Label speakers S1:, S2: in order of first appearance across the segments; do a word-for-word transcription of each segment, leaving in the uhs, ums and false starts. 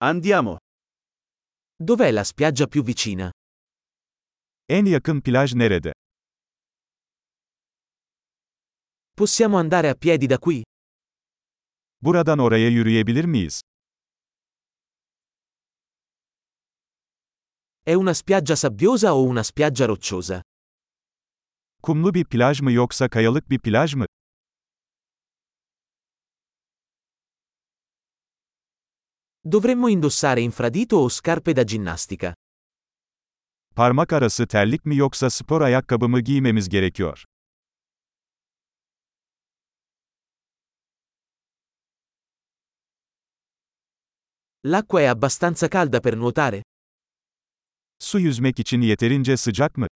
S1: Andiamo.
S2: Dov'è la spiaggia più vicina?
S3: En yakın plaj nerede?
S2: Possiamo andare a piedi da qui?
S3: Buradan oraya yürüyebilir miyiz?
S2: È una spiaggia sabbiosa o una spiaggia rocciosa?
S3: Kumlu bir plaj mı yoksa kayalık bir plaj mı?
S2: Dovremmo indossare infradito o scarpe da ginnastica?
S3: Parmak arası terlik mi yoksa spor ayakkabı mı giymemiz gerekiyor?
S2: L'acqua è abbastanza calda per nuotare?
S3: Su yüzmek için yeterince sıcak mı?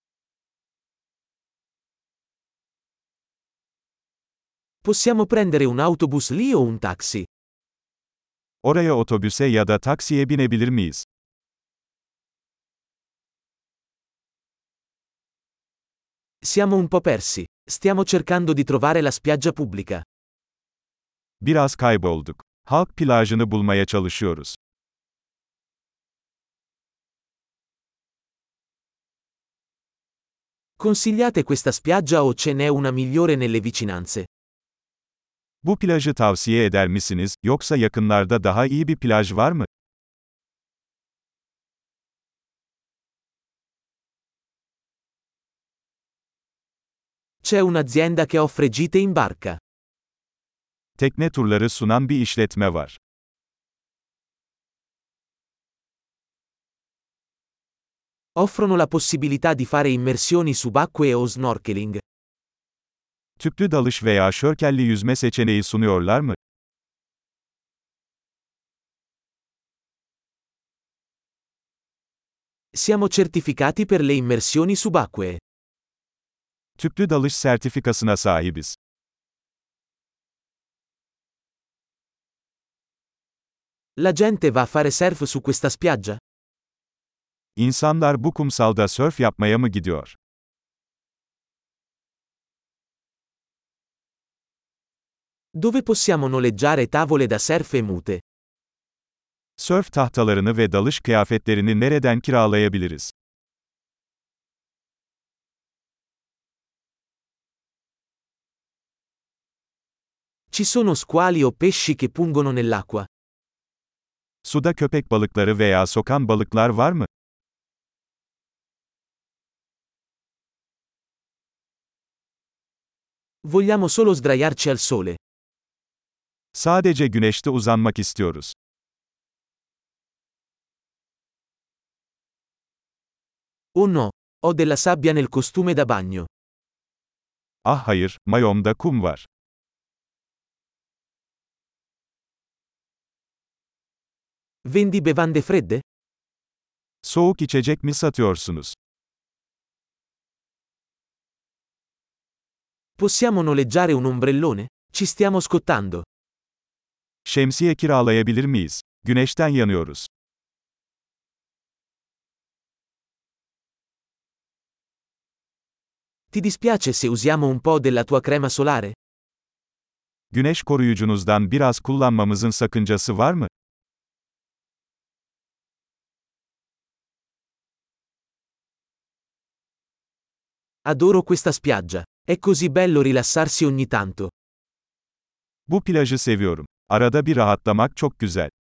S2: Possiamo prendere un autobus lì o un taxi?
S3: Oraya otobüse ya da taksiye binebilir miyiz?
S2: Siamo un po' persi. Stiamo cercando di trovare la spiaggia pubblica.
S3: Biraz kaybolduk. Halk plajını bulmaya çalışıyoruz.
S2: Consigliate questa spiaggia o ce n'è una migliore nelle vicinanze?
S3: Bu plajı tavsiye eder misiniz, yoksa yakınlarda daha iyi bir plaj var mı?
S2: C'è un'azienda che offre gite in barca.
S3: Tekne turları sunan bir işletme var.
S2: Offrono la possibilità di fare immersioni subacquee o snorkeling.
S3: Tüplü dalış veya şörkelli yüzme seçeneği sunuyorlar mı?
S2: Siamo certificati per le immersioni subacquee.
S3: Tüplü dalış sertifikasına sahibiz.
S2: La gente va a fare surf su questa spiaggia?
S3: İnsanlar bu kumsalda sörf yapmaya mı gidiyor?
S2: Dove possiamo noleggiare tavole da surf e mute?
S3: Sörf tahtalarını ve dalış kıyafetlerini nereden kiralayabiliriz?
S2: Ci sono squali o pesci che pungono nell'acqua?
S3: Suda köpek balıkları veya sokan balıklar var mı?
S2: Vogliamo solo sdraiarci al sole.
S3: Sadece güneşte uzanmak istiyoruz.
S2: Oh no, ho della sabbia nel costume da bagno.
S3: Ah hayır, mayomda kum var.
S2: Vendi bevande fredde?
S3: Soğuk içecek mi satıyorsunuz?
S2: Possiamo noleggiare un ombrellone? Ci stiamo scottando.
S3: Şemsiye kiralayabilir miyiz? Güneşten yanıyoruz.
S2: Ti dispiace se usiamo un po' della tua crema solare?
S3: Güneş koruyucunuzdan biraz kullanmamızın sakıncası var mı?
S2: Adoro questa spiaggia. È così bello rilassarsi ogni tanto.
S3: Bu plajı seviyorum. Arada bir rahatlamak çok güzel.